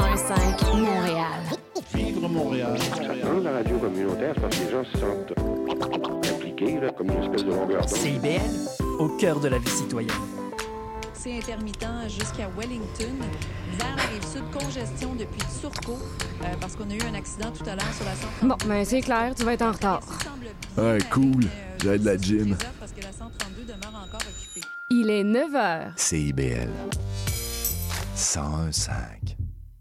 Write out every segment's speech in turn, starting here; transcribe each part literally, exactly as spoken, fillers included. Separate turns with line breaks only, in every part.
un cinq Montréal.
Vivre Montréal.
Dans la radio communautaire, c'est parce que les gens se sentent impliqués, là, comme une espèce de longueur d'onde.
C I B L, au cœur de la vie citoyenne.
C'est intermittent jusqu'à Wellington. Vers la Rive-Sud, congestion depuis Turcot, euh, parce qu'on a eu un accident tout à l'heure sur la cent trente-deux.
Bon, ben c'est clair, tu vas être en retard.
Ouais, cool. J'ai de la gym.
Parce que la cent trente-deux demeure encore occupée.
Il est neuf heures.
C I B L cent un cinq.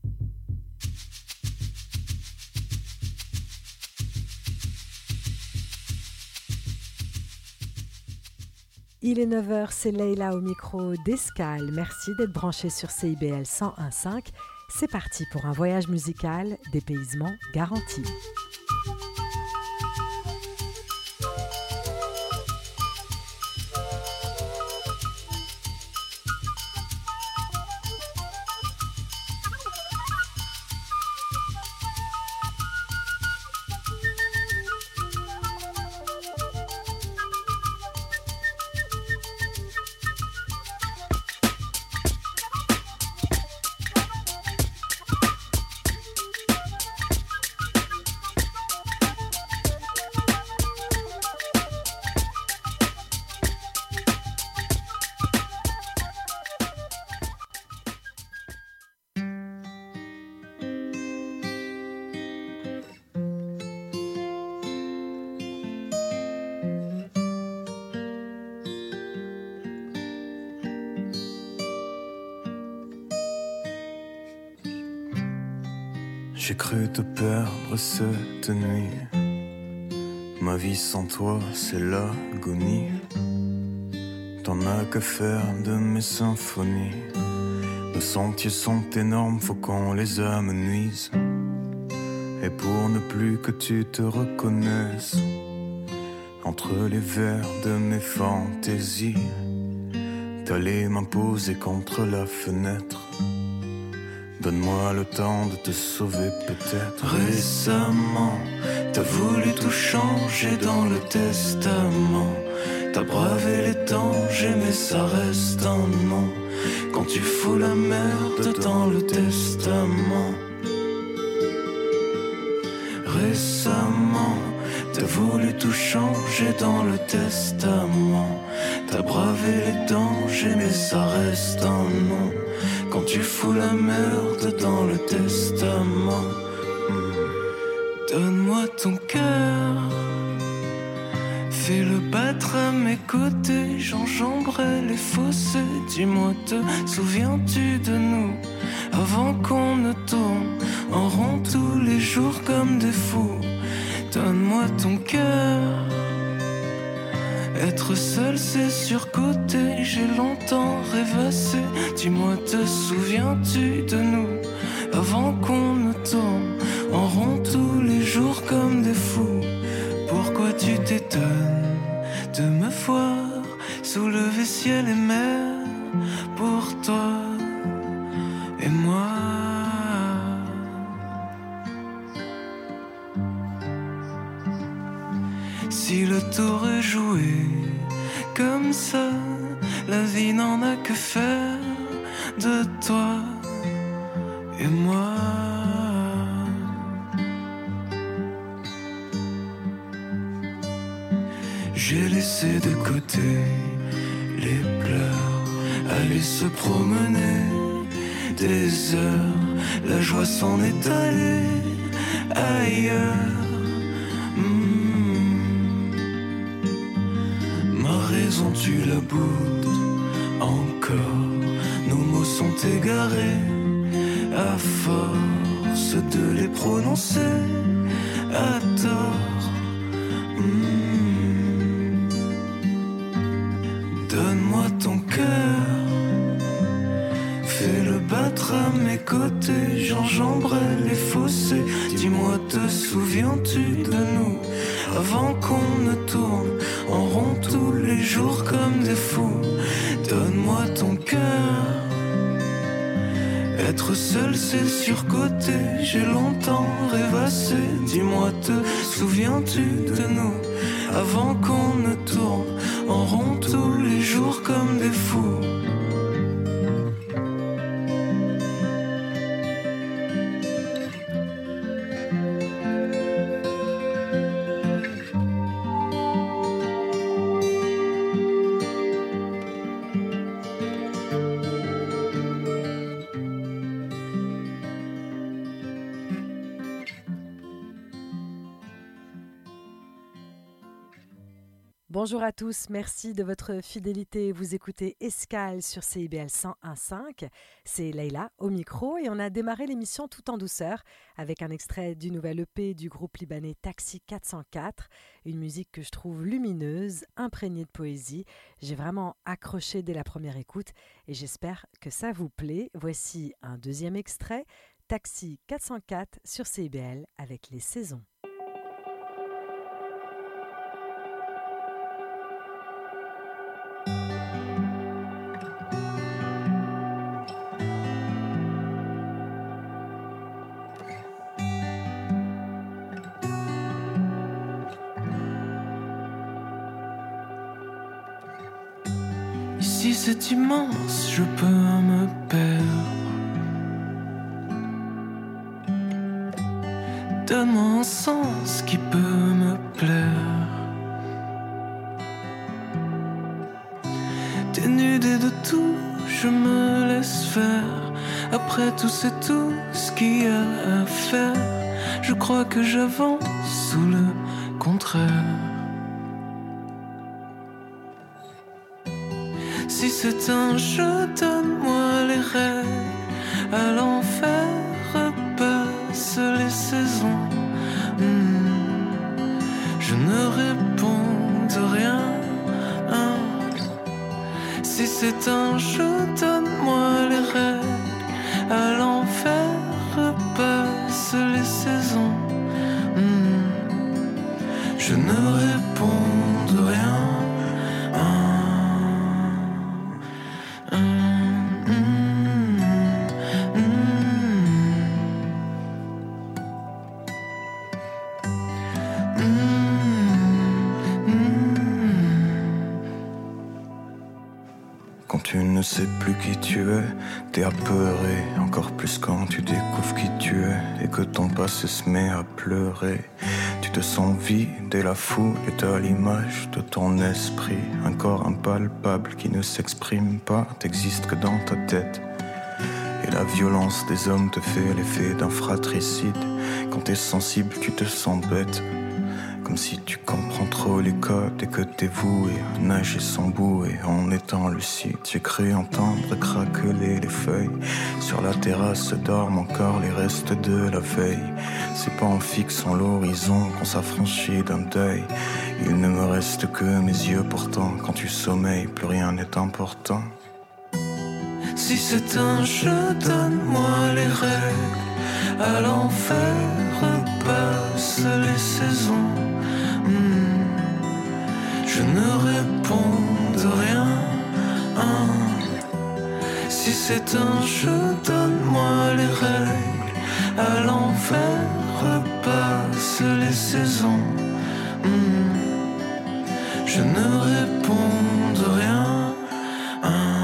Il est neuf heures, c'est Leïla au micro d'Escale. Merci d'être branché sur C I B L cent un cinq. C'est parti pour un voyage musical, dépaysement garanti.
J'ai cru te perdre cette nuit. Ma vie sans toi, c'est l'agonie. T'en as que faire de mes symphonies. Nos sentiers sont énormes, faut qu'on les amenuise. Et pour ne plus que tu te reconnaisses, entre les vers de mes fantaisies, t'allais m'imposer contre la fenêtre. Donne-moi le temps de te sauver peut-être. Récemment, t'as voulu tout changer dans le testament. T'as bravé les dangers mais ça reste un nom. Quand tu fous la merde dans le testament. Récemment, t'as voulu tout changer dans le testament. T'as bravé les dangers mais ça reste un nom. Quand tu fous la merde dans le testament. mmh. Donne-moi ton cœur, fais-le battre à mes côtés. J'enjamberai les fossés. Dis-moi, te souviens-tu de nous avant qu'on ne tourne en rond tous les jours comme des fous? Donne-moi ton cœur. Être seul c'est surcoté, j'ai longtemps rêvassé. Dis-moi, te souviens-tu de nous avant qu'on ne tourne en rond tous les jours comme des fous? Pourquoi tu t'étonnes de me voir soulever ciel et mer pour toi et moi? Si le tour est joué comme ça, la vie n'en a que faire de toi et moi. J'ai laissé de côté les pleurs, aller se promener des heures. La joie s'en est allée ailleurs. Tu la boudes encore. Nos mots sont égarés à force de les prononcer à tort. mmh. Donne-moi ton cœur, fais-le battre à mes côtés. J'enjamberai les fossés. Dis-moi, te souviens-tu de nous avant qu'on ne tourne en rond tous les jours comme des fous? Donne-moi ton cœur. Être seul c'est surcoté, j'ai longtemps rêvassé. Dis-moi, te souviens-tu de nous avant qu'on ne tourne en rond tous les jours comme des fous?
Bonjour à tous, merci de votre fidélité. Vous écoutez Escale sur C I B L cent un virgule cinq. C'est Leïla au micro et on a démarré l'émission tout en douceur avec un extrait du nouvel E P du groupe libanais Taxi quatre cent quatre, une musique que je trouve lumineuse, imprégnée de poésie. J'ai vraiment accroché dès la première écoute et j'espère que ça vous plaît. Voici un deuxième extrait, Taxi quatre cent quatre sur C I B L avec les saisons.
Ici c'est immense, je peux me perdre. Donne-moi un sens qui peut me plaire. Dénudé de tout, je me laisse faire. Après tout c'est tout ce qu'il y a à faire. Je crois que j'avance sous le contraire. Si c'est un jeu, donne-moi les règles. À l'enfer repasse les saisons. Mmh. Je ne réponds de rien. Hein. Si c'est un jeu, donne-moi les règles. À l'enfer repasse les saisons. Mmh. Je ne réponds de rien. Hein. Ne sais plus qui tu es, t'es apeuré, encore plus quand tu découvres qui tu es et que ton passé se met à pleurer. Tu te sens vide et la foule est à l'image de ton esprit, un corps impalpable qui ne s'exprime pas, t'existes que dans ta tête. Et la violence des hommes te fait l'effet d'un fratricide. Quand t'es sensible, tu te sens bête. Comme si tu comprends trop les codes et que t'es voué à nager sans bouée en étant lucide. J'ai cru entendre craqueler les feuilles. Sur la terrasse dorment encore les restes de la veille. C'est pas en fixant l'horizon qu'on s'affranchit d'un deuil. Il ne me reste que mes yeux pourtant. Quand tu sommeilles, plus rien n'est important. Si c'est un jeu, donne-moi les règles. À l'enfer repasse les saisons. Mmh. Je ne réponds de rien. Hein. Si c'est un jeu, donne-moi les règles. À l'enfer repasse les saisons. Mmh. Je ne réponds de rien. Hein.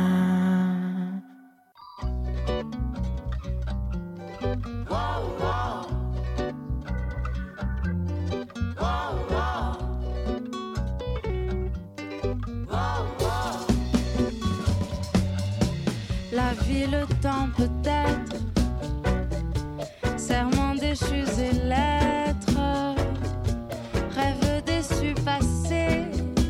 La vie, le temps peut-être, serments déchus et lettres, rêves déçus passés,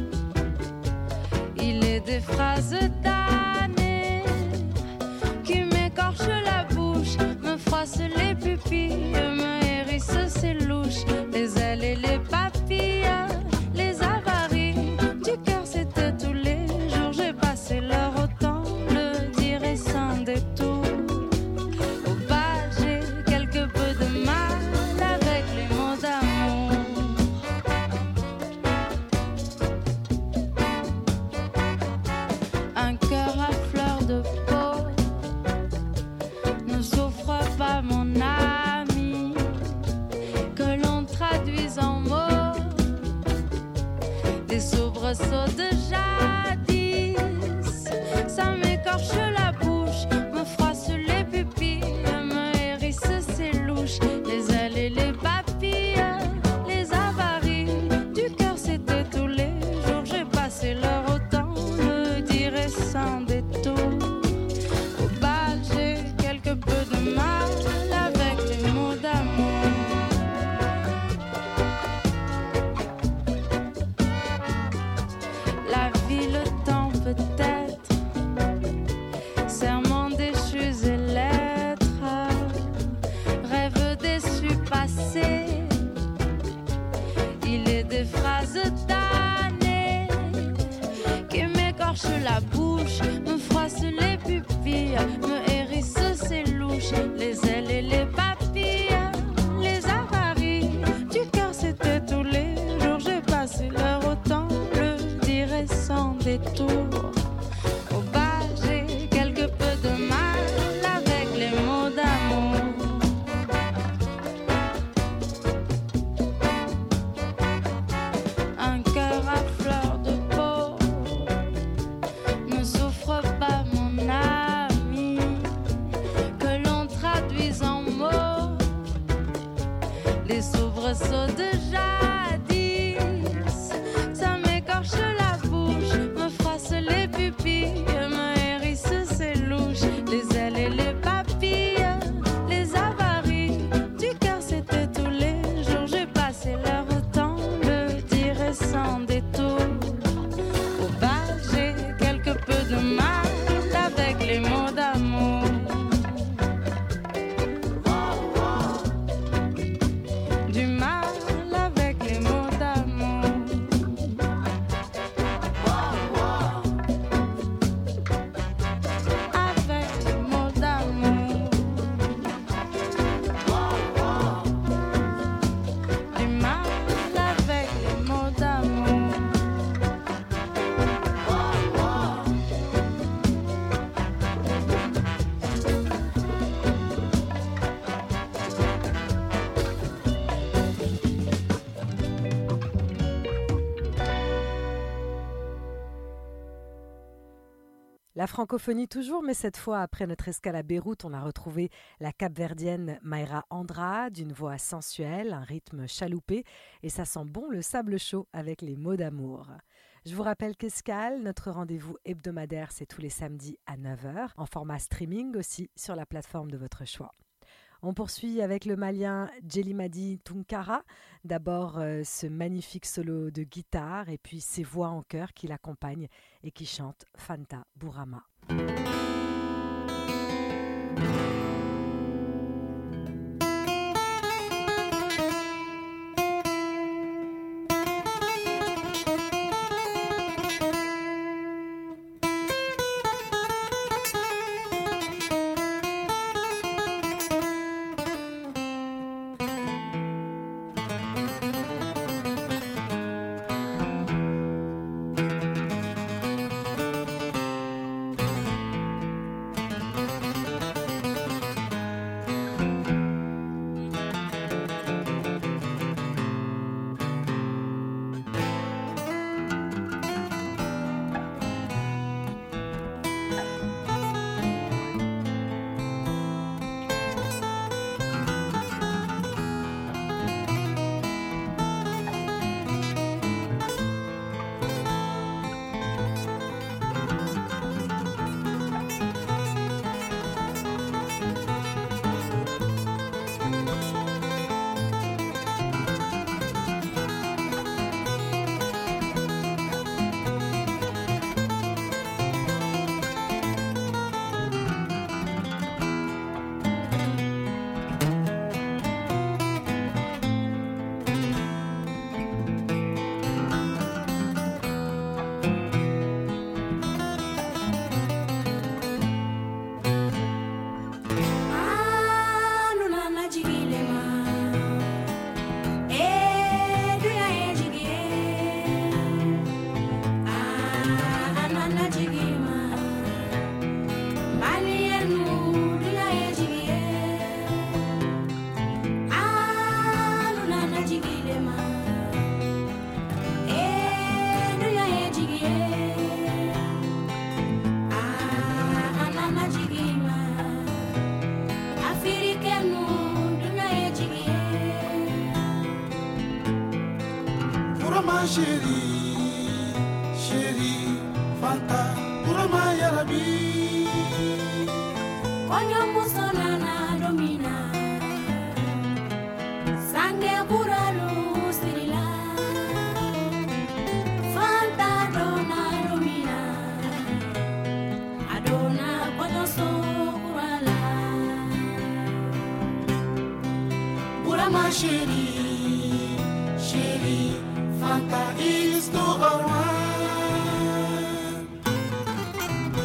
il est des phrases damnées qui m'écorchent la bouche, me froissent les pupilles, me hérissent ses louches, les ailes et les papilles, les avaries du cœur, c'était tous les jours, j'ai passé l'heure au temps. Détour. Au bal, j'ai quelque peu de mal avec les mots d'amour. Un cœur à fleur de peau ne souffre pas, mon ami, que l'on traduise en mots des soubresauts de jadis. Ça m'écorche la bouche, me froisse les pupilles, me hérisse ses louches, les ailes et les papilles, les avaries du cœur, c'était tous les jours. J'ai passé l'heure au temps, le dirai sans détour. Au bal, j'ai quelque peu de mal avec les mots d'amour. bouche, me froisse les pupilles, me hérisse ses louches, les ailes et les papilles, les avaries du cœur, c'était tous les jours. J'ai passé l'heure autant le dirait sans détour. Au bas, j'ai quelque peu de mal avec les mots d'amour. Un cœur à fleur de peau ne souffre pas, mon ami, que l'on traduise en mots les soubresauts de jadis. Ça m'écorche la bouche, me froisse les pupilles, me hérisse ses louches, les ailes et les papilles, les avaries du cœur, c'était tous les jours. J'ai passé l'heure autant le dirait sans détour. Au bas, j'ai quelque peu de mal avec les mots d'amour. Du mal avec les mots d'amour. Avec les mots d'amour. Du mal avec les mots d'amour.
La francophonie toujours, mais cette fois, après notre escale à Beyrouth, on a retrouvé la capverdienne Mayra Andrade, d'une voix sensuelle, un rythme chaloupé, et ça sent bon le sable chaud avec les mots d'amour. Je vous rappelle qu'Escale, notre rendez-vous hebdomadaire, c'est tous les samedis à neuf heures, en format streaming aussi sur la plateforme de votre choix. On poursuit avec le malien Djelimadi Tunkara. D'abord euh, ce magnifique solo de guitare et puis ses voix en chœur qui l'accompagnent et qui chantent Fanta Bourama.
Chérie, chérie, Fanta, Burama Yarabi.
Onyo musona na domina, sange kuralu sirila. Fanta dona domina, adona onyo so kurala.
Burama chérie, chérie, Fanta is to our one.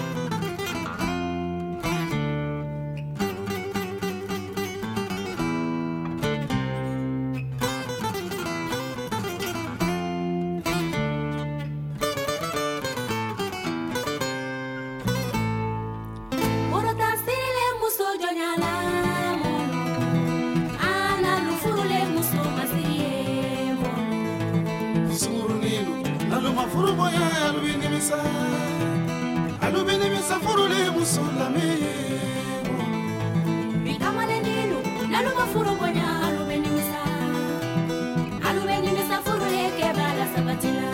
misa furule musulame
Bikamale ninu nalu mafuro bonya alu benimisa alu benimisa furule ke bala sabatila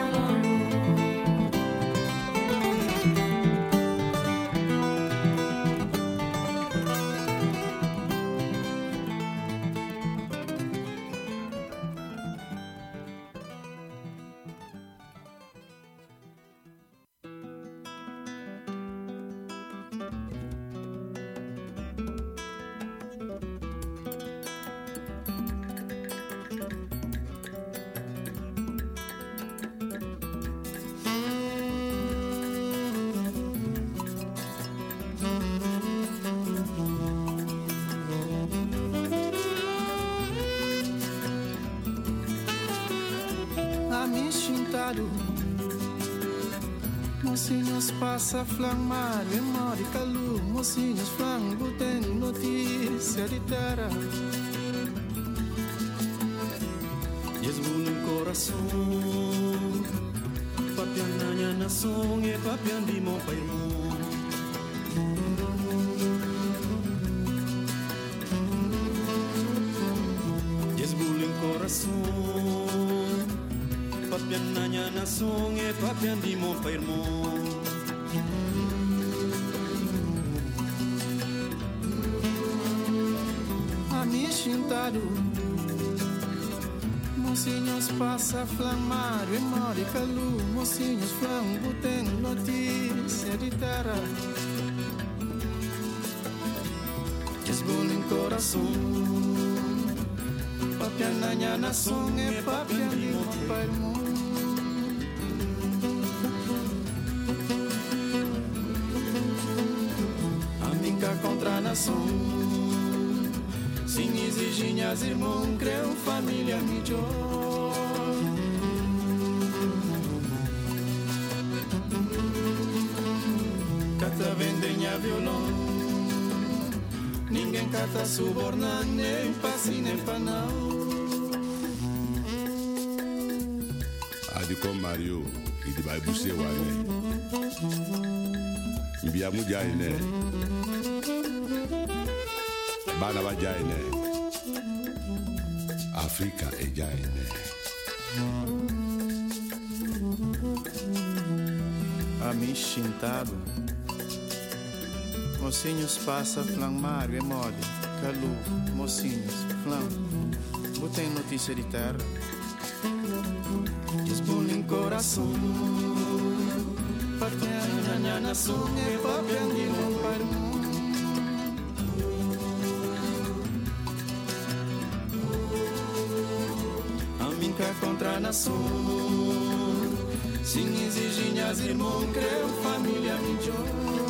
Mocinhos passa flang mar e mori calu. Mocinhos flang tem notícia de terra.
Esbulo em coração, papian nanya na song e papian di mo pa irmão. Esbulo em coração, papian nanya na song e papian di mo pa irmão.
Ami chintado, mocinhos passa flamar e mori calu. Mocinhos flambo tem notícia de terra. Esbolo em coração, papian nanya na song e papian di mo pa irmão. Contra a nação, sem exigir as irmãos, creu família melhor. Cata vendenha violão, ninguém cata subornar, nem passe nem panal.
Adi com Mario, e de vai buscar o ane. Bia mujaine. Bana ba jaine, Africa e jaine.
Ami chintado, mocinhos passa flang mar e mode, calu, mocinhos flang, botem notícia de terra. Esbolo em coração, papian na nação e papian de não parmo. Contra a nação, sem exigir as irmãos, creu família melhor.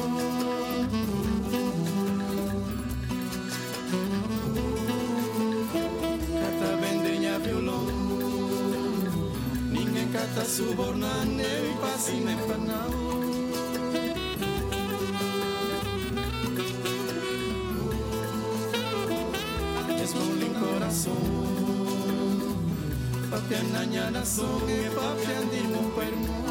Cata vendenha violão, ninguém cata subornar, nem passe nem panal. Esbolo em coração, papian nanya na song e papian di mo pa irmão.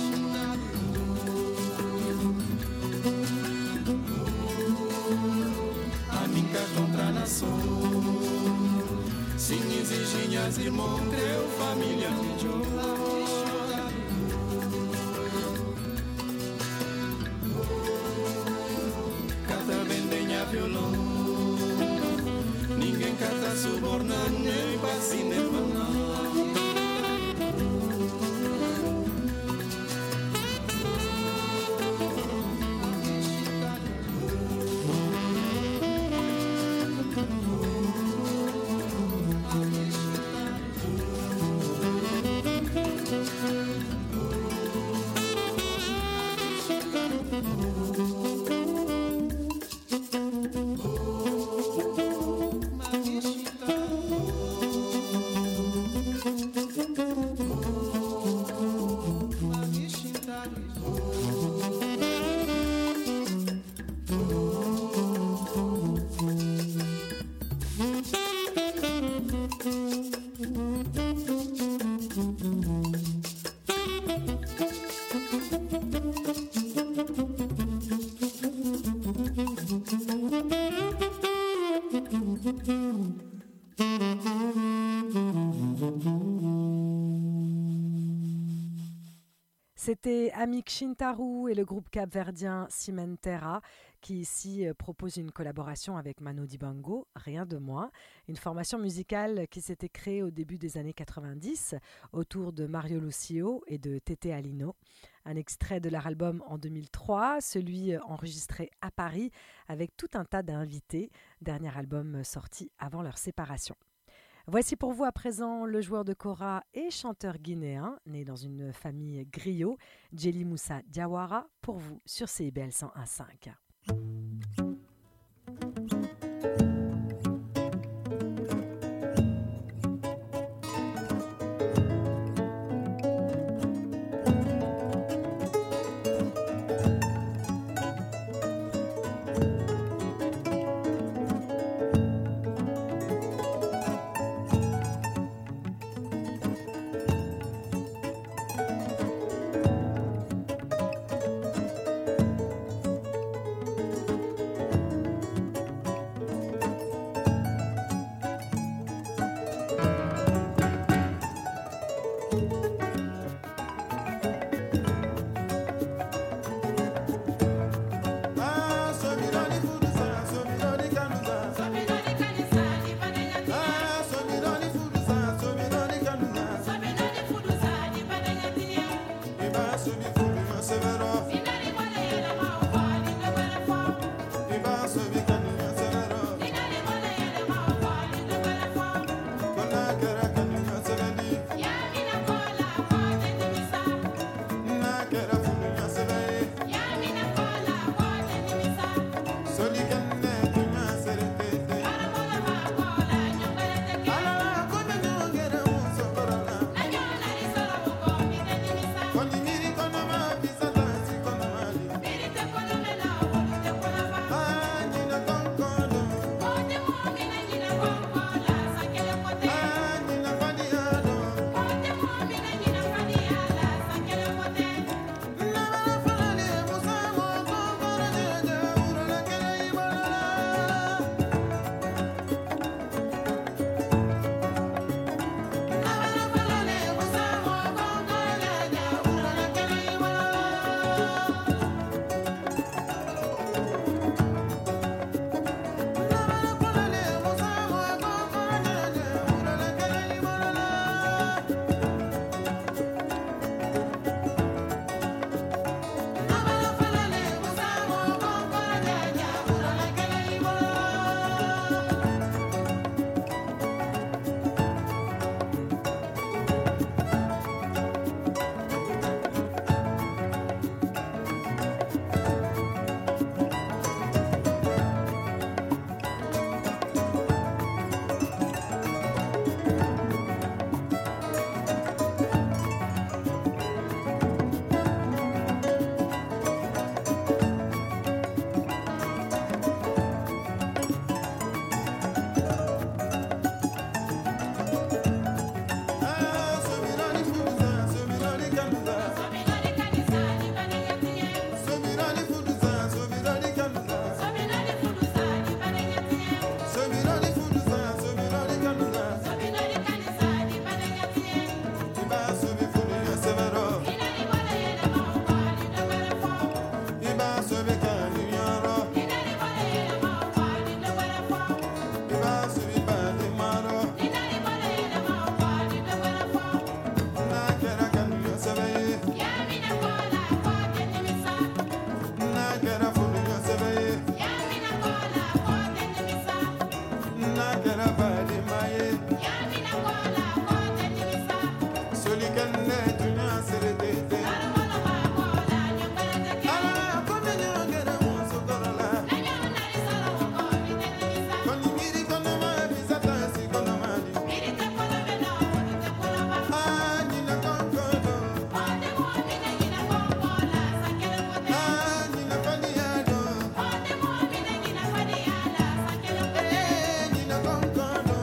Amiga contra a nação, sem exigir as irmãos, creu família melhor. Cata vendenha violão, ninguém cata subornar, nem passe nem panal.
C'était Amik Shintaru et le groupe capverdien Cimentera qui ici propose une collaboration avec Manu Dibango, rien de moins. Une formation musicale qui s'était créée au début des années quatre-vingt-dix autour de Mario Lucio et de Tété Alino. Un extrait de leur album en deux mille trois, celui enregistré à Paris avec tout un tas d'invités, dernier album sorti avant leur séparation. Voici pour vous à présent le joueur de kora et chanteur guinéen, né dans une famille griot, Djeli Moussa Diawara, pour vous sur C I B L cent un virgule cinq.
Congo.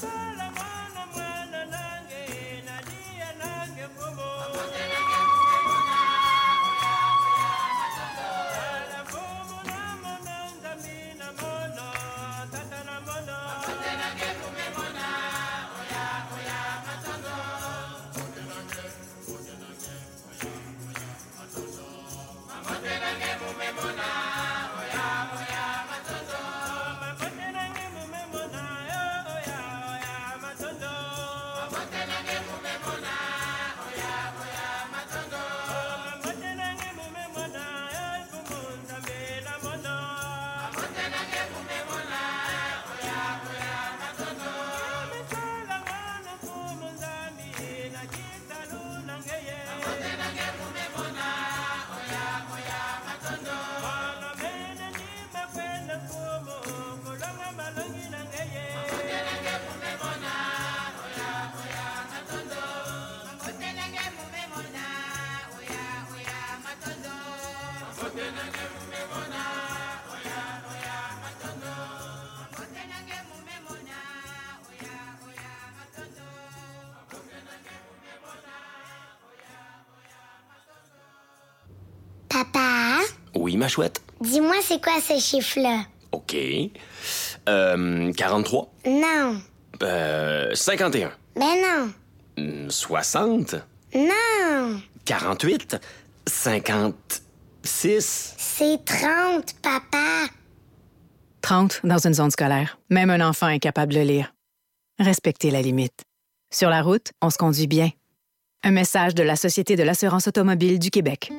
Papa?
Oui, ma chouette?
Dis-moi, c'est quoi ce chiffre-là?
OK. Euh, quarante-trois?
Non.
Euh, cinquante et un?
Ben non.
soixante?
Non.
quarante-huit? cinquante-six?
C'est trente, papa.
trente dans une zone scolaire. Même un enfant est capable de lire. Respectez la limite. Sur la route, on se conduit bien. Un message de la Société de l'assurance automobile du Québec.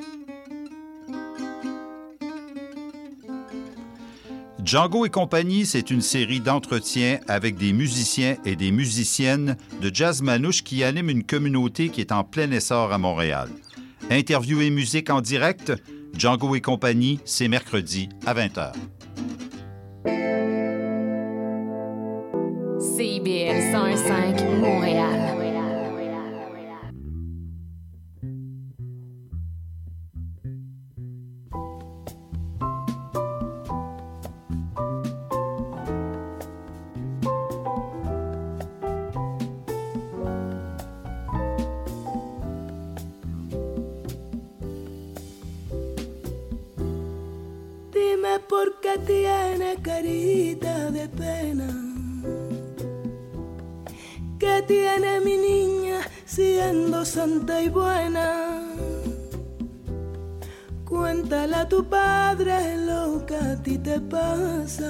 Django et compagnie, c'est une série d'entretiens avec des musiciens et des musiciennes de jazz manouche qui animent une communauté qui est en plein essor à Montréal. Interview et musique en direct, Django et compagnie, c'est mercredi à vingt heures.
C I B L cent un virgule cinq Montréal.
Dime por qué tiene carita de pena. ¿Qué tiene mi niña siendo santa y buena? Cuéntale a tu padre lo que a ti te pasa.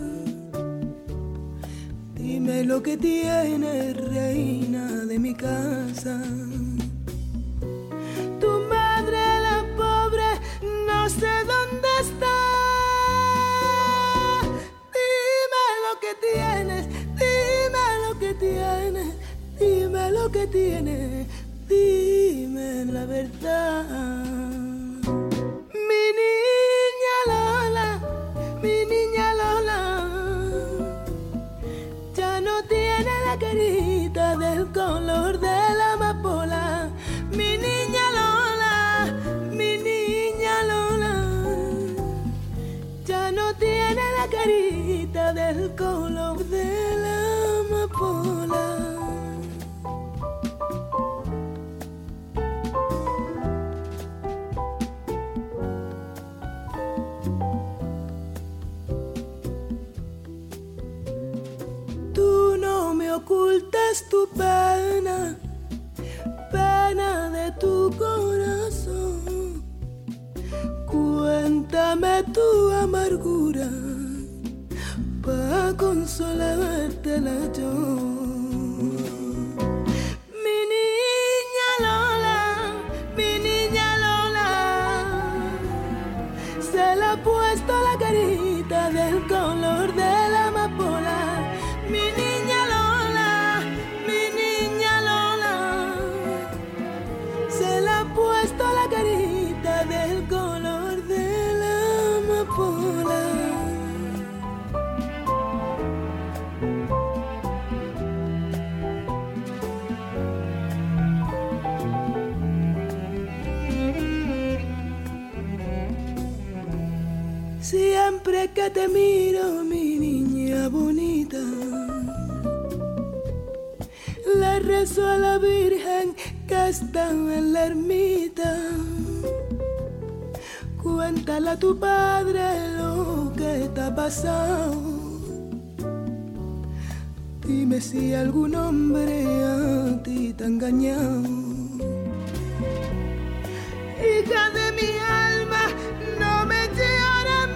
Dime lo que tiene, reina de mi casa. Tu madre, la pobre, no sé dónde está. Dime lo que tienes, dime lo que tienes, dime lo que tienes, dime la verdad. Mi niña Lola, mi niña Lola, ya no tiene la carita del color de la amapola. Mi niña Lola, mi niña Lola, ya no tiene la carita del color de la amapola. Tú no me ocultas tu pena, pena de tu corazón. Cuéntame tu amargura pa' consolártela yo. Mi niña Lola, mi niña Lola, se le ha puesto la carita del color de la amapola. Mi niña Lola, mi niña Lola, se le ha puesto la carita del color de la amapola. Siempre que te miro, mi niña bonita, le rezo a la Virgen que está en la ermita. Cuéntale a tu padre lo que te ha pasado. Dime si algún hombre a ti te ha engañado. Hija de mi alma, no me llores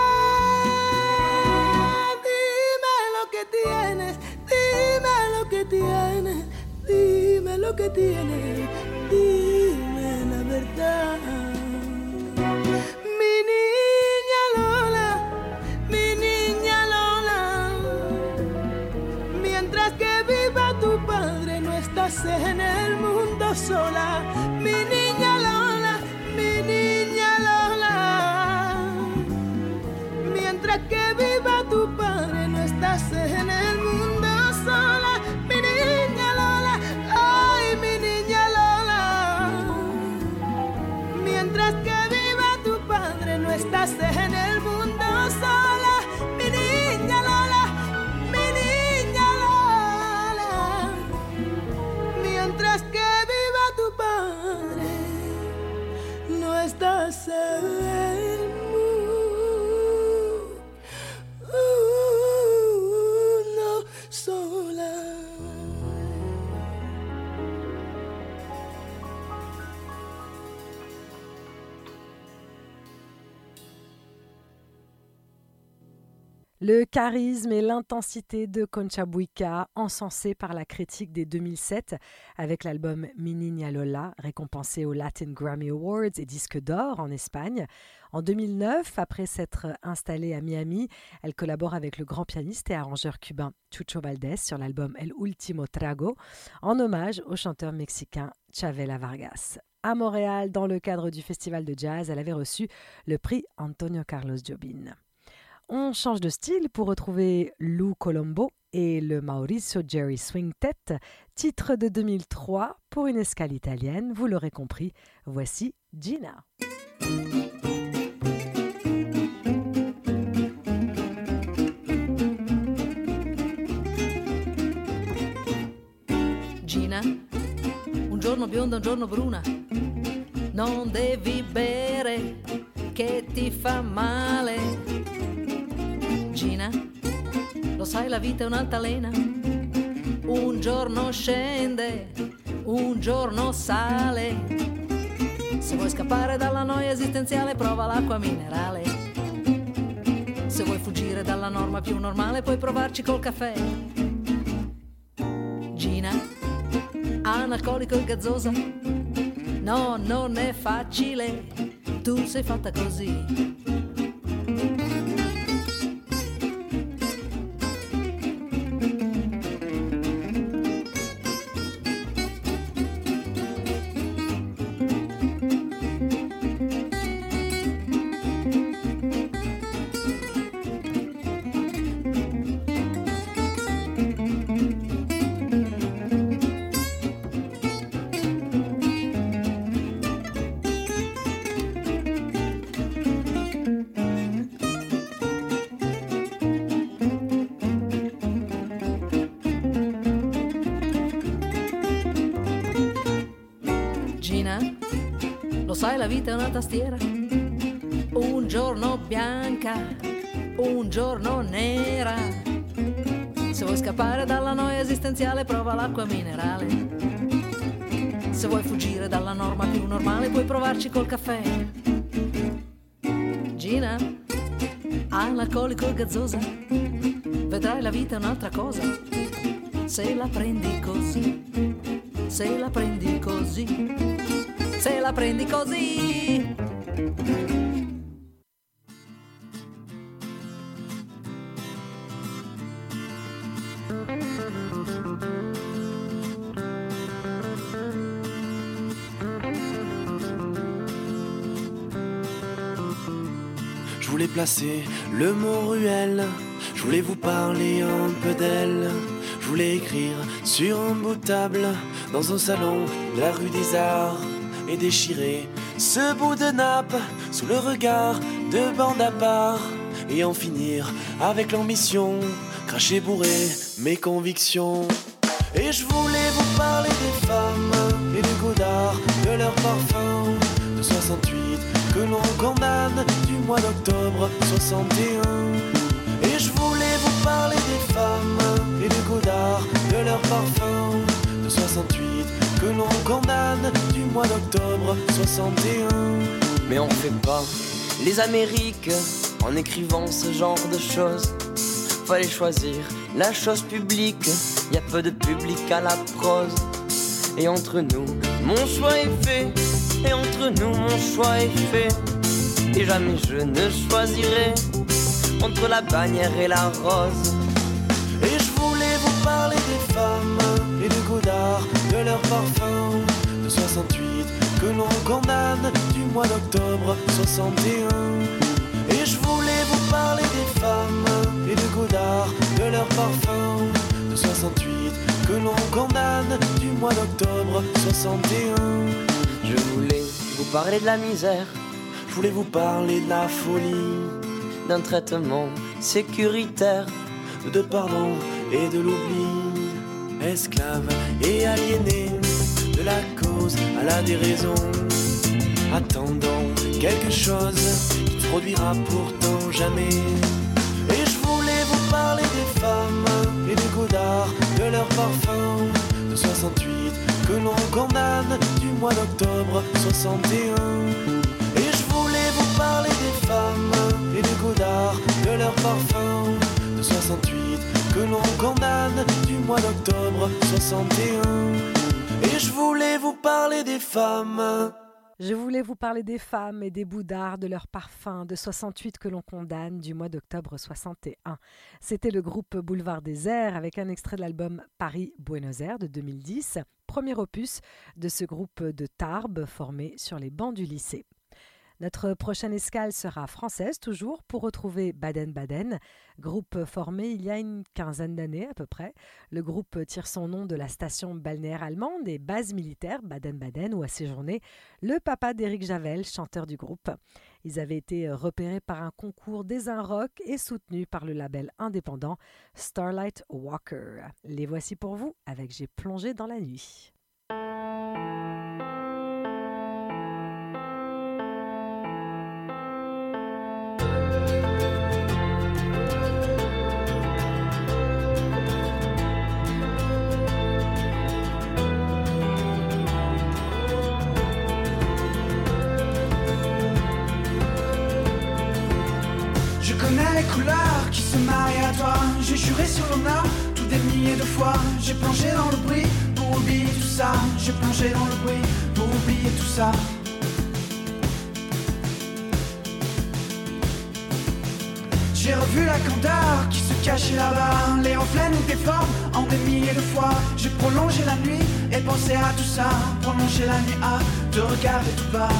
más. Dime lo que tienes, dime lo que tienes, dime lo que tienes, dime la verdad. Mi niña Lola, mi niña Lola, mientras que viva tu padre no estás en el mundo sola. Mi niña Lola, mi niña Lola, mientras que viva tu padre no estás en el mundo sola. Mi niña Lola, ay mi niña Lola, mientras que viva tu padre no estás en el mundo sola. Mi niña Lola, mi niña Lola, mientras que viva tu padre no estás en el mundo sola.
Le charisme et l'intensité de Concha Buica, encensés par la critique dès deux mille sept avec l'album Mi Niña Lola, récompensé aux Latin Grammy Awards et disque d'or en Espagne. En deux mille neuf, après s'être installée à Miami, elle collabore avec le grand pianiste et arrangeur cubain Chucho Valdés sur l'album El Último Trago, en hommage au chanteur mexicain Chavela Vargas. À Montréal, dans le cadre du festival de jazz, elle avait reçu le prix Antonio Carlos Jobim. On change de style pour retrouver Lou Colombo et le Mauricio Jerry Swingtet, titre de deux mille trois pour une escale italienne, vous l'aurez compris, voici Gina.
Gina, un giorno bionda, un giorno bruna, non devi bere che ti fa male. Gina, lo sai la vita è un'altalena, un giorno scende, un giorno sale. Se vuoi scappare dalla noia esistenziale prova l'acqua minerale. Se vuoi fuggire dalla norma più normale puoi provarci col caffè. Gina, analcolico e gazzosa, no, non è facile, tu sei fatta così. Sai, la vita è una tastiera, un giorno bianca, un giorno nera. Se vuoi scappare dalla noia esistenziale prova l'acqua minerale. Se vuoi fuggire dalla norma più normale puoi provarci col caffè. Gina, analcolico e gazzosa, vedrai la vita è un'altra cosa. Se la prendi così, se la prendi così, se la prendi così.
Je voulais placer le mot ruelle, je voulais vous parler un peu d'elle. Je voulais écrire sur un bout de table dans un salon de la rue des Arts et déchirer ce bout de nappe sous le regard de bande à part et en finir avec l'ambition, cracher bourré mes convictions. Et je voulais vous parler des femmes et du goût d'art, de leur parfum de soixante-huit que l'on condamne du mois d'octobre soixante et un. Et je voulais vous parler des femmes et du goût d'art, de leur parfum de soixante-huit que l'on condamne du mois d'octobre soixante et un.
Mais on fait pas les Amériques en écrivant ce genre de choses. Fallait choisir la chose publique, y a peu de public à la prose. Et entre nous, mon choix est fait, et entre nous, mon choix est fait. Et jamais je ne choisirai entre la bannière et la rose.
Et je voulais vous parler des femmes et du goût d'art, de leur parfum de soixante-huit que l'on condamne du mois d'octobre soixante et un. Et je voulais vous parler des femmes et du goût d'art, de leur parfum de soixante-huit que l'on condamne du mois d'octobre soixante et un.
Je voulais vous parler de la misère,
je voulais vous parler de la folie,
d'un traitement sécuritaire,
de pardon et de l'oubli. Esclaves et aliénés, de la cause à la déraison, attendant quelque chose qui ne produira pourtant jamais. Et je voulais vous parler des femmes et du goût d'art, de leur parfum de soixante-huit que l'on condamne du mois d'octobre soixante et un. Et je voulais vous parler des femmes et du goût d'art, de leur parfum de soixante-huit que l'on condamne du mois d'octobre soixante et un. Et je voulais vous parler des femmes.
Je voulais vous parler des femmes et des bouts d'art, de leur parfum de soixante-huit que l'on condamne du mois d'octobre soixante et un. C'était le groupe Boulevard Désert avec un extrait de l'album Paris-Buenos Aires de deux mille dix, premier opus de ce groupe de Tarbes formé sur les bancs du lycée. Notre prochaine escale sera française toujours pour retrouver Baden-Baden, groupe formé il y a une quinzaine d'années à peu près. Le groupe tire son nom de la station balnéaire allemande et base militaire Baden-Baden où a séjourné le papa d'Éric Javel, chanteur du groupe. Ils avaient été repérés par un concours des Un Rock et soutenus par le label indépendant Starlight Walker. Les voici pour vous avec J'ai plongé dans la nuit.
Les couleurs qui se marient à toi. J'ai juré sur l'honneur tout des milliers de fois. J'ai plongé dans le bruit pour oublier tout ça. J'ai plongé dans le bruit pour oublier tout ça. J'ai revu la candeur qui se cachait là-bas. Les reflets nous déforment en des milliers de fois. J'ai prolongé la nuit et pensé à tout ça. Prolongé la nuit à te regarder tout bas.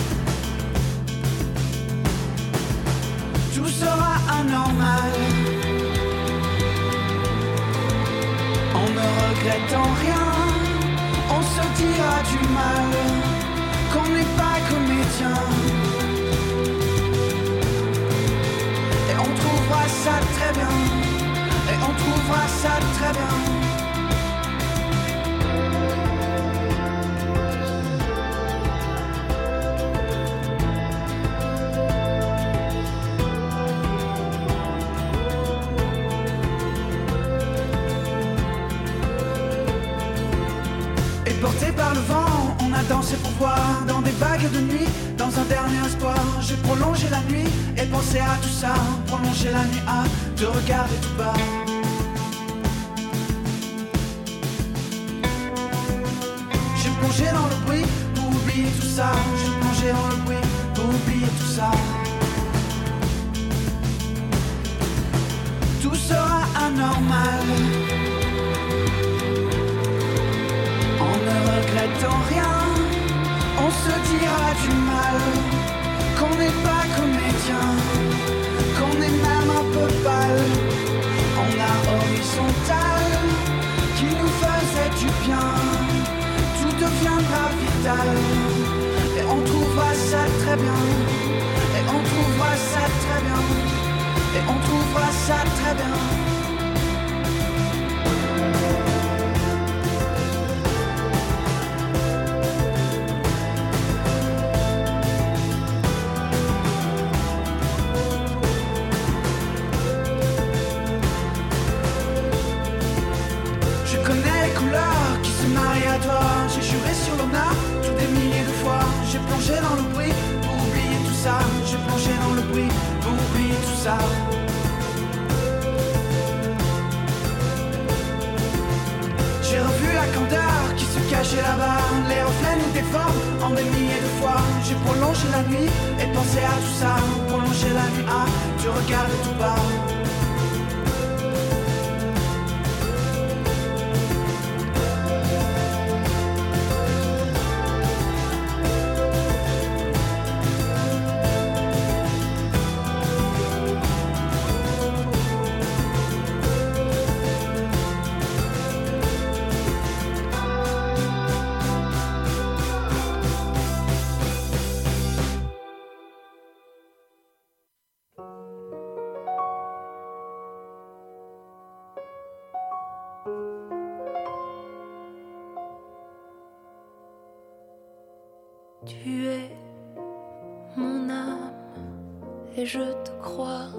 Tout sera anormal en ne regrettant rien. On se dira du mal qu'on n'est pas comédien. Et on trouvera ça très bien. Et on trouvera ça très bien. Porté par le vent, on a dansé pour voir. Dans des vagues de nuit, dans un dernier espoir. J'ai prolongé la nuit et pensé à tout ça. Prolongé la nuit à te regarder tout bas. J'ai plongé dans le bruit pour oublier tout ça. J'ai plongé dans le bruit pour oublier tout ça. Tout sera anormal en ne regrettant rien. On se dira du mal qu'on n'est pas comédien, qu'on est même un peu pâle. En art horizontal qui nous faisait du bien, tout deviendra vital. Et on trouvera ça très bien. Et on trouvera ça très bien. Et on trouvera ça très bien. Je connais les couleurs qui se marient à toi. J'ai juré sur l'honneur tout des milliers de fois. J'ai plongé dans le bruit pour oublier tout ça. J'ai plongé dans le bruit pour oublier tout ça. J'ai revu la candeur qui se cachait là-bas. Les reflets nous déforment en des milliers de fois. J'ai prolongé la nuit et pensé à tout ça. Prolongé la nuit, ah, tu regardes tout bas.
Tu es mon âme et je te crois.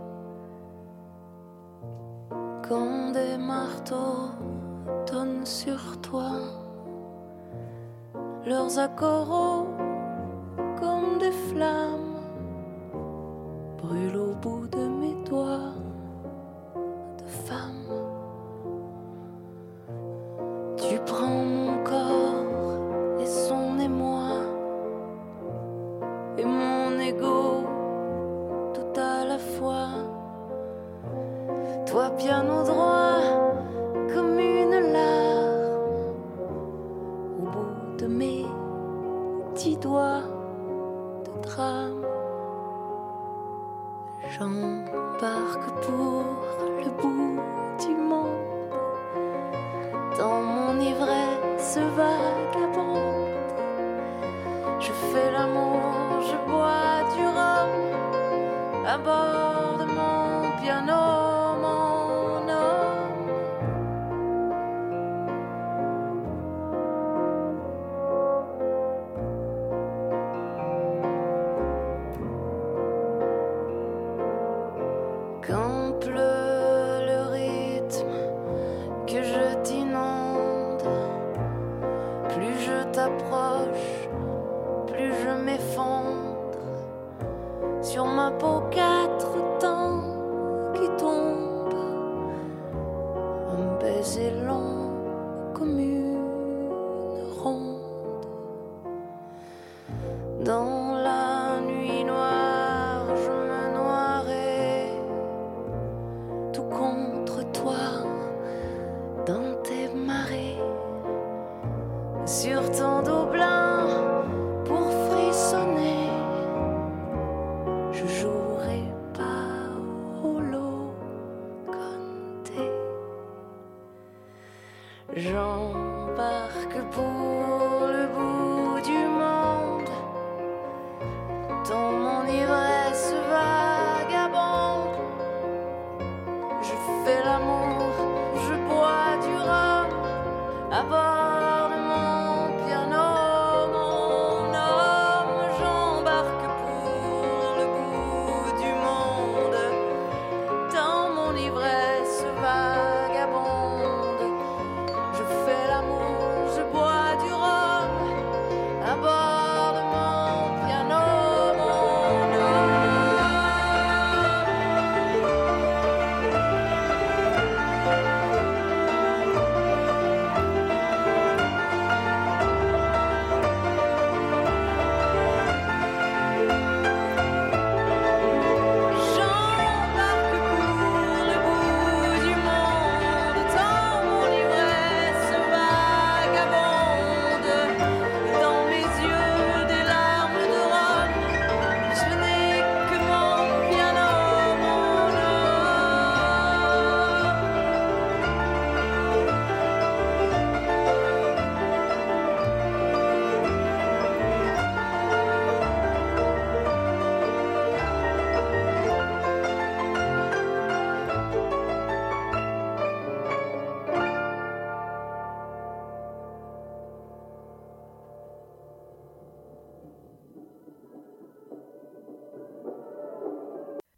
Quand des marteaux tonnent sur toi, leurs accords comme des flammes brûlent au bout de mes doigts de femme. Tu prends mon corps et son émoi et mon ego tout à la fois. Toi piano droit comme une larme au bout de mes petits doigts de drame. J'embarque pour le bout du monde dans mon ivresse vagabonde. Je fais l'amour, je bois du rhum à bord de mon piano. Sur ma peau quatre temps qui tombent, un baiser long comme une ronde. Dans la nuit noire, je me noierai tout contre toi, dans tes marées, sur ton dos blanc pour frissonner. Je jouerai pas au Locanté. J'embarque pour le bout du monde dans mon ivresse vagabonde. Je fais l'amour, je bois du rhum à bord de mon piano. Vagabonde, je fais l'amour, je bois du rhum.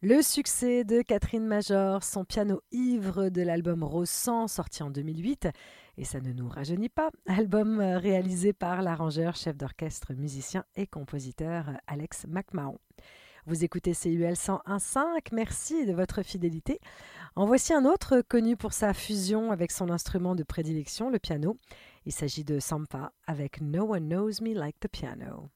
Le succès de Catherine Major, son piano ivre de l'album Rose sang, sorti en deux mille huit, et ça ne nous rajeunit pas, album réalisé par l'arrangeur, chef d'orchestre, musicien et compositeur Alex McMahon. Vous écoutez C I B L cent un virgule cinq, merci de votre fidélité. En voici un autre connu pour sa fusion avec son instrument de prédilection, le piano. Il s'agit de Sampha avec No One Knows Me Like the Piano.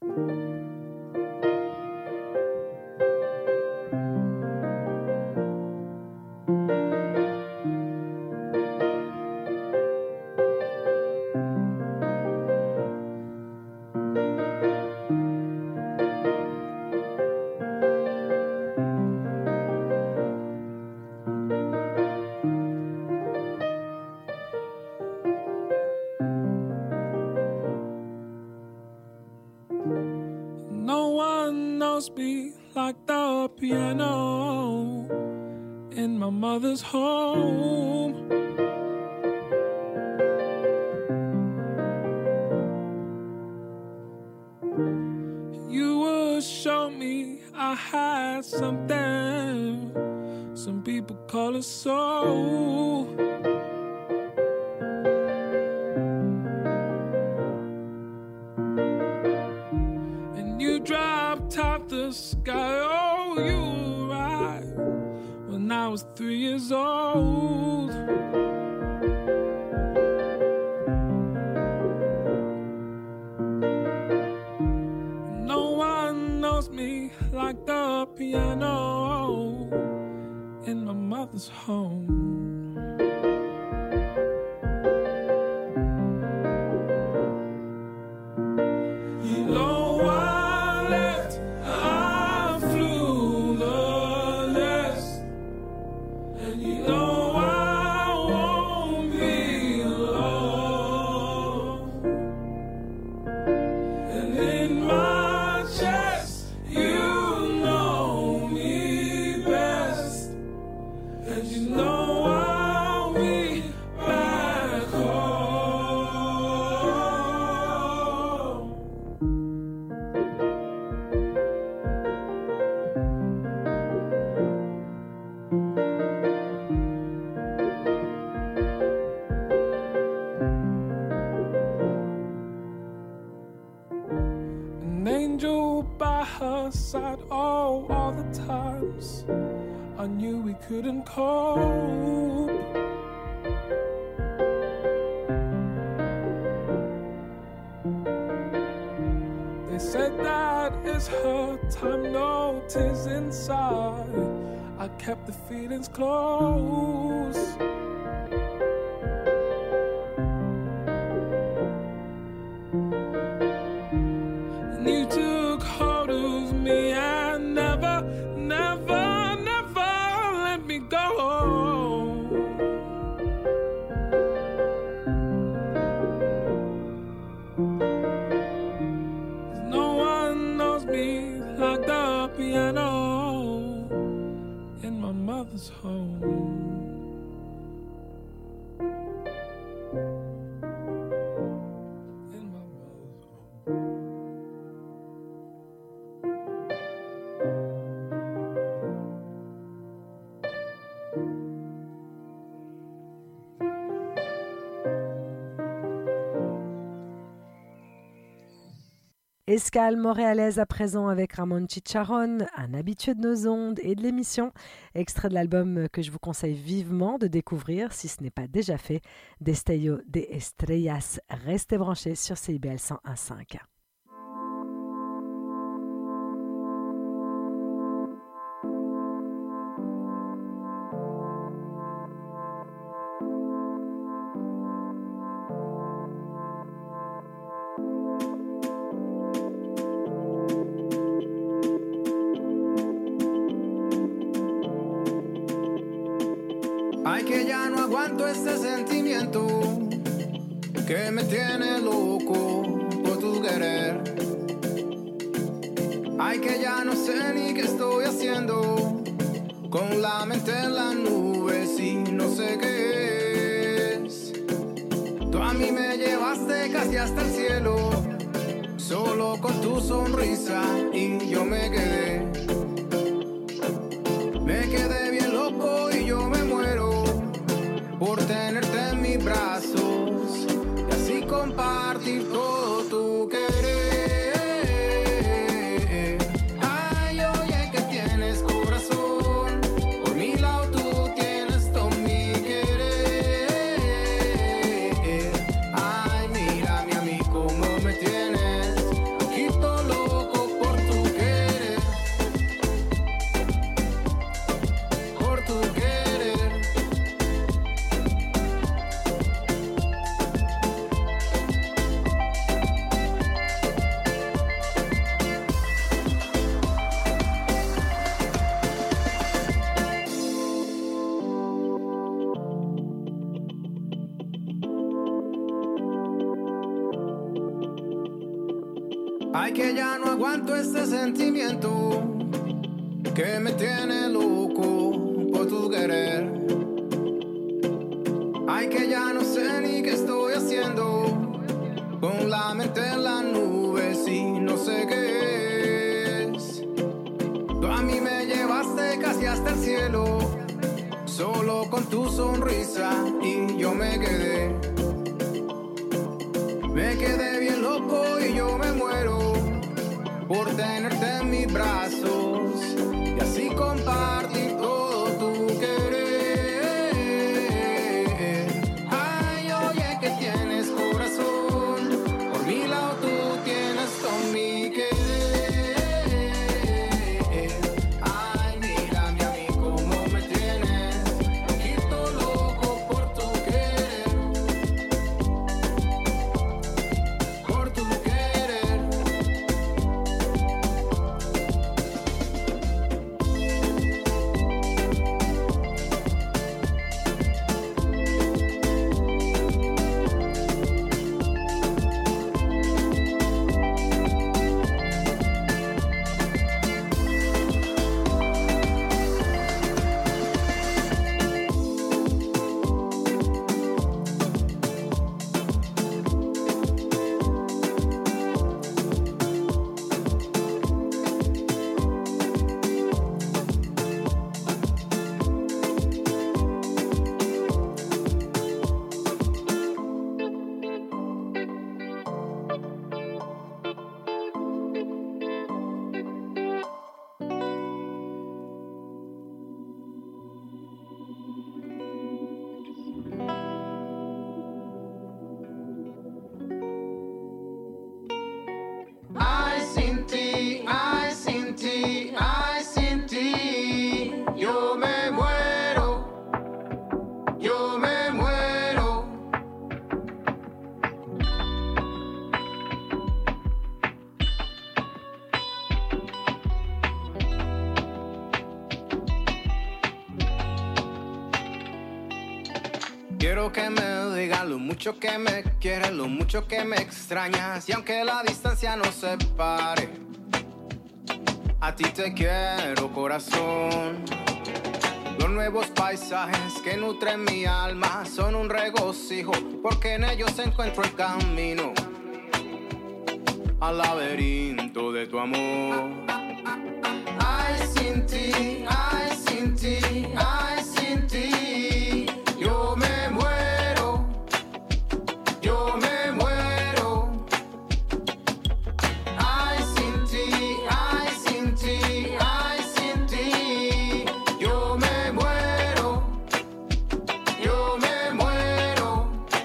Be like the piano in my mother's home. You would show me I had something some people call a soul. Top the sky, oh, you were right when I was three years old. No one knows me like the piano in my mother's home. You know why? Side, oh, all the times I knew we couldn't cope. They said that it's her time, no tears inside. I kept the feelings close. And you took hold of me and never, never, never let me go. No one knows me like the piano in my mother's home.
Escale montréalaise à présent avec Ramon Chicharron, un habitué de nos ondes et de l'émission. Extrait de l'album que je vous conseille vivement de découvrir, si ce n'est pas déjà fait, Destello de Estrellas. Restez branchés sur C I B L cent un virgule cinq.
Ay, que ya no aguanto este sentimiento que me tiene loco por tu querer. Ay, que ya no sé ni qué estoy haciendo, con la mente en las nubes y no sé qué es. Tú a mí me llevaste casi hasta el cielo, solo con tu sonrisa y yo me quedé.
quedé bien loco y yo me muero por tenerte en mis brazos y así compartir todo tu querer. Ay, oye, que tienes corazón, por mi lado tú tienes todo mi querer. Ay, mírame a mí como me tienes, poquito loco por tu querer, por tu querer. Ay, que ya no aguanto este sentimiento que me tiene loco por tu querer. Ay, que ya no sé ni qué estoy haciendo, con la mente en las nubes y no sé qué es. Tú a mí me llevaste casi hasta el cielo, solo con tu sonrisa y yo me quedé. Me quedé bien loco y yo me muero por tenerte en mis brazos y así compartir todo tu querer. Ay, oye, que tienes corazón, por mi lado tú tienes todo mi querer. Ay, mírame a mí como me tienes, poquito loco por tu querer, por tu querer. Ay, sin ti, ay, sin ti, ay, sin ti, yo me muero, yo me muero. Quiero que me digas lo mucho que me quieres, lo mucho que me extrañas, y aunque la distancia nos separe, a ti te quiero, corazón. Los nuevos paisajes que nutren mi alma son un regocijo, porque en ellos encuentro el camino al laberinto de tu amor. Ay, sin ti, ay, sin ti, ay, sin ti, yo me muero, yo me muero. Ay, sin ti, ay, sin ti, ay, sin ti, yo me muero, yo me muero.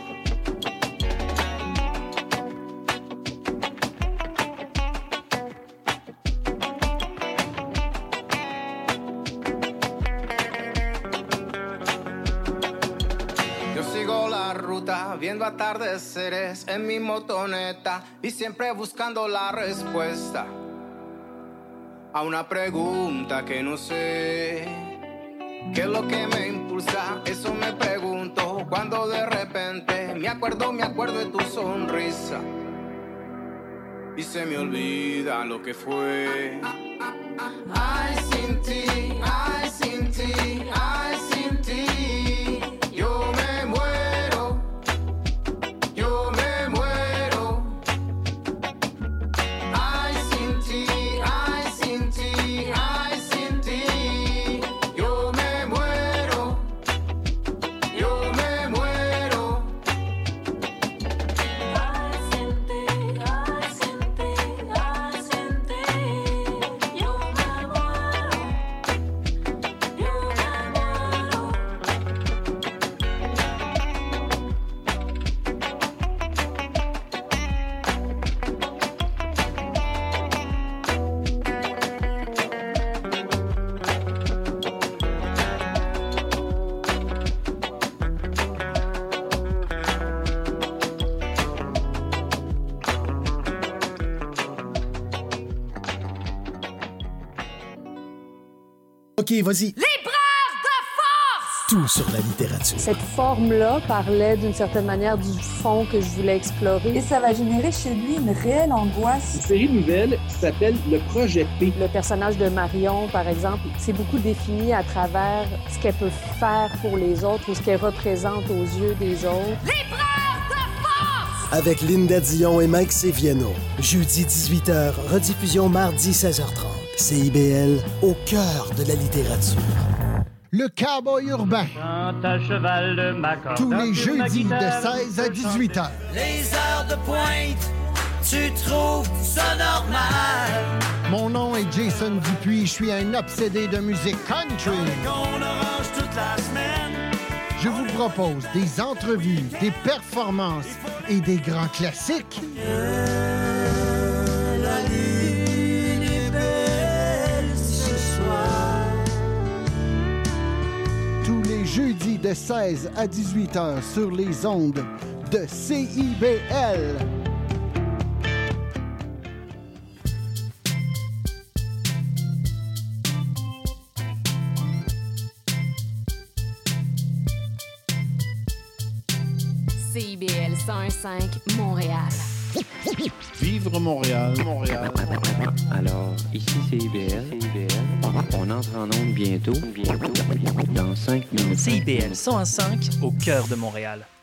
Yo sigo la ruta, viendo atardeceres en mi motoneta y siempre buscando la respuesta a una pregunta que no sé. ¿Qué es lo que me impulsa? Eso me pregunto cuando de repente me acuerdo, me acuerdo de tu sonrisa y se me olvida lo que fue. Ay, sin ti, ay, sin ti, ay, sin ti, yo me muero, yo me muero. Ay, sin ti, ay, sin ti, ay, sin ti, yo
OK, vas-y.
L'épreuve de force!
Tout sur la littérature.
Cette forme-là parlait d'une certaine manière du fond que je voulais explorer.
Et ça va générer chez lui une réelle angoisse.
Une série nouvelle qui s'appelle Le Projet P.
Le personnage de Marion, par exemple, c'est beaucoup défini à travers ce qu'elle peut faire pour les autres ou ce qu'elle représente aux yeux des autres.
L'épreuve de force!
Avec Linda Dion et Mike Seviano. Jeudi dix-huit heures, rediffusion mardi seize heures trente. C I B L, au cœur de la littérature.
Le Cowboy urbain.
À cheval de ma corde,
tous les jeudis de seize à dix-huit heures.
Les heures de pointe, tu trouves ça normal?
Mon nom est Jason Dupuis, je suis un obsédé de musique country. Je vous propose des entrevues, des performances et des grands classiques.
La lune est belle ce soir.
Tous les jeudis de seize à dix-huit heures sur les ondes de C I B L.
C I B L cent un virgule cinq Montréal.
Vivre Montréal, Montréal.
Alors, ici c'est I B L. C I B L. On entre en onde bientôt, bientôt, dans cinq minutes.
C I B L cent un virgule cinq au cœur de Montréal.